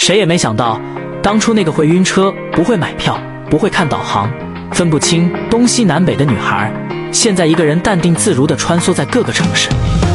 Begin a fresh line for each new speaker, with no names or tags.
谁也没想到，当初那个会晕车、不会买票、不会看导航、分不清东西南北的女孩，现在一个人淡定自如地穿梭在各个城市。